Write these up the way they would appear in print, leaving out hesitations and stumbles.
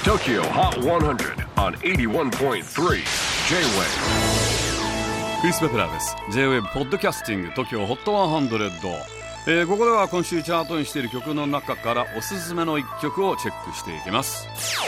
TOKYO HOT 100 on 81.3 J-WAVE クリス・ベプラーです。 J-WAVE ポッドキャスティング TOKYO HOT 100、ここでは今週チャートにしている曲の中からおすすめの一曲をチェックしていきます。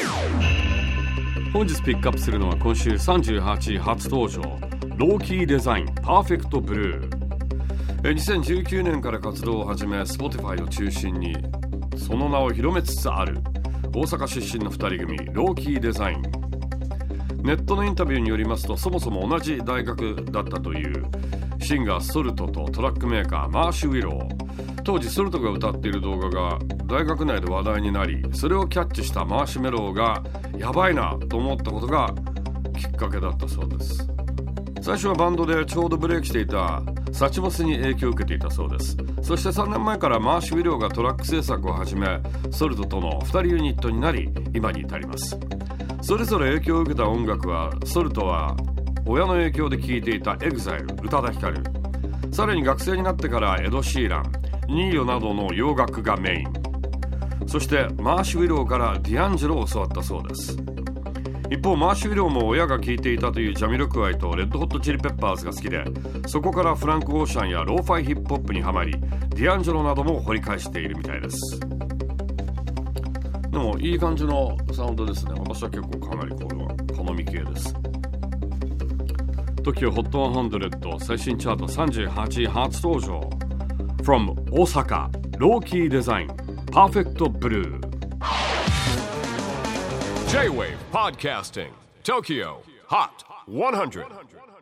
本日ピックアップするのは今週38位初登場、ローキーデザインパーフェクトブルー。2019年から活動を始め Spotify を中心にその名を広めつつある大阪出身の2人組ローキーデザイン。ネットのインタビューによりますと、そもそも同じ大学だったというシンガーソルトとトラックメーカーマーシュ・ウィロー。当時ソルトが歌っている動画が大学内で話題になり、それをキャッチしたマーシュメローがやばいなと思ったことがきっかけだったそうです。最初はバンドでちょうどブレイクしていたサチモスに影響を受けていたそうです。そして3年前からマーシュ・ウィローがトラック制作を始め、ソルトとの2人ユニットになり今に至ります。それぞれ影響を受けた音楽は、ソルトは親の影響で聴いていたEXILE宇多田ヒカル、さらに学生になってからエド・シーラン、ニーヨなどの洋楽がメイン、そしてマーシュ・ウィローからディアンジェロを教わったそうです。一方マーシュ・ウィローも親が聴いていたというジャミロクワイとレッドホットチリペッパーズが好きで、そこからフランク・オーシャンやローファイヒップホップにはまり、ディアンジェロなども掘り返しているみたいです。でもいい感じのサウンドですね。私は結構かなりこれは好み系です。 TOKYO HOT 100最新チャート38位初登場 From 大阪ローキーデザインパーフェクトブルー。 J-WAVE PODCASTING TOKYO HOT 100